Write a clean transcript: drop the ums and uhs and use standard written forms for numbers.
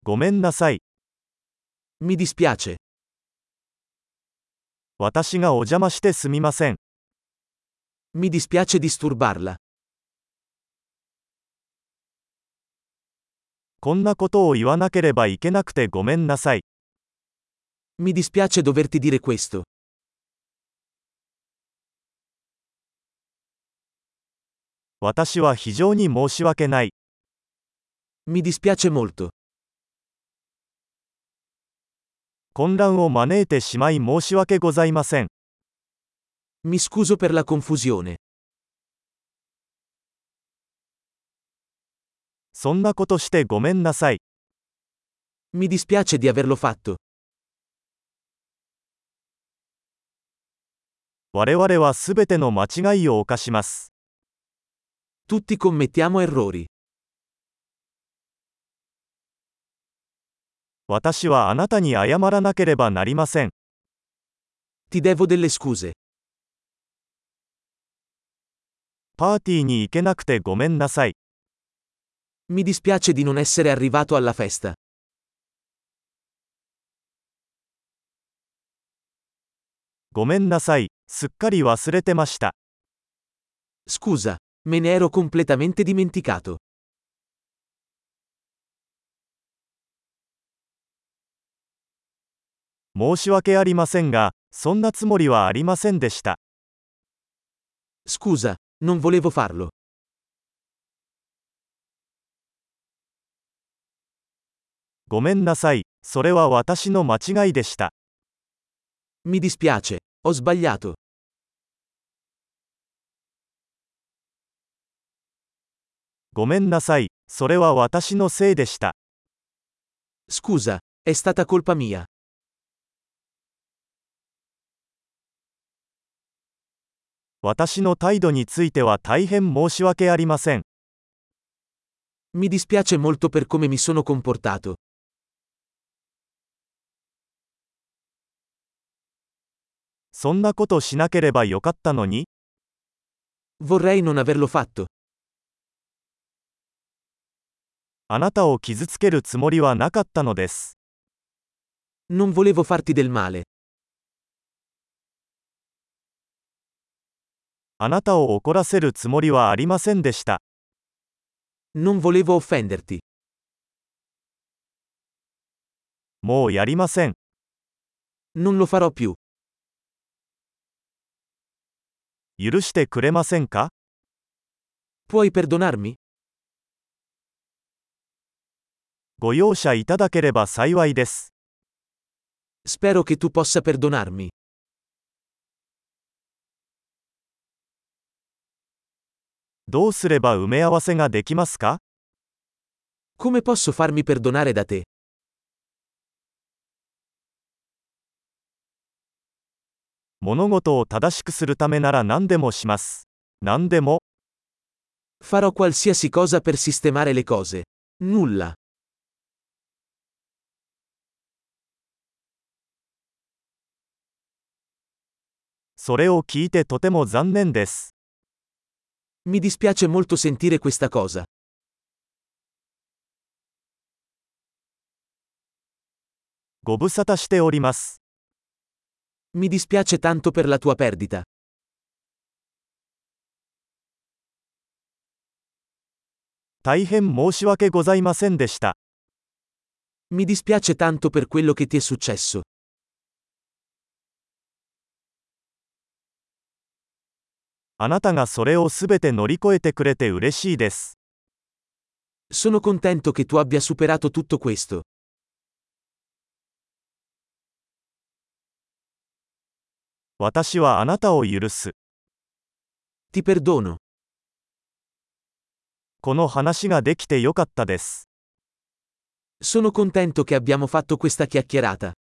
ごめんなさい。 Mi dispiace. 私がお邪魔してすみません。 Mi dispiace disturbarla. こんなことを言わなければいけなくてごめんなさい。 Mi dispiace doverti dire questo. 私は非常に申し訳ない。 Mi dispiace molto. 混乱を招いてしまい申し訳ございません。 Mi scuso per la confusione. そんなことしてごめんなさい。 Mi dispiace di averlo fatto. 我々はすべての間違いを犯します。 Tutti commettiamo errori. 私はあなたに謝らなければなりません。 Ti devo delle scuse. パーティーに行けなくてごめんなさい。 Mi dispiace di non essere arrivato alla festa. ごめんなさい。すっかり忘れてました。 Scusa, me ne ero completamente dimenticato. 申し訳ありませんが、そんなつもりはありませんでした。 Scusa, non volevo farlo. ごめんなさい。それは私の間違いでした。 Mi dispiace, ho sbagliato. ごめんなさい。それは私のせいでした。 Scusa, è stata colpa mia. 私の態度については大変申し訳ありません。 Mi dispiace molto per come mi sono comportato. そんなことしなければよかったのに。 Vorrei non averlo fatto. あなたを傷つけるつもりはなかったのです。 Non volevo farti del male. あなたを怒らせるつもりはありませんでした。 Non volevo offenderti. もうやりません。 Non lo farò più. 許してくれませんか？ Puoi perdonarmi? ご容赦いただければ幸いです。 Spero che tu possa perdonarmi. どうすれば埋め合わせができますか？ Come posso farmi perdonare da te? 物事を正しくするためなら何でもします。何でも。 Farò qualsiasi cosa per sistemare le cose. Nulla. それを聞いてとても残念です。 Mi dispiace molto sentire questa cosa. ご無沙汰しております。 Mi dispiace tanto per la tua perdita. 大変申し訳ございませんでした。 Mi dispiace tanto per quello che ti è successo. あなたがそれをすべて乗り越えてくれて嬉しいです。 Sono contento che tu abbia superato tutto questo. 私はあなたを許す。 Ti perdono. この話ができてよかったです。 Sono contento che abbiamo fatto questa chiacchierata.